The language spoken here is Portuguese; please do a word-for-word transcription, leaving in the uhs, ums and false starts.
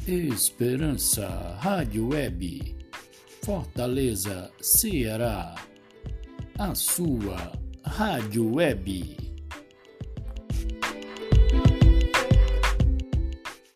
Esperança Rádio Web, Fortaleza, Ceará, a sua Rádio Web.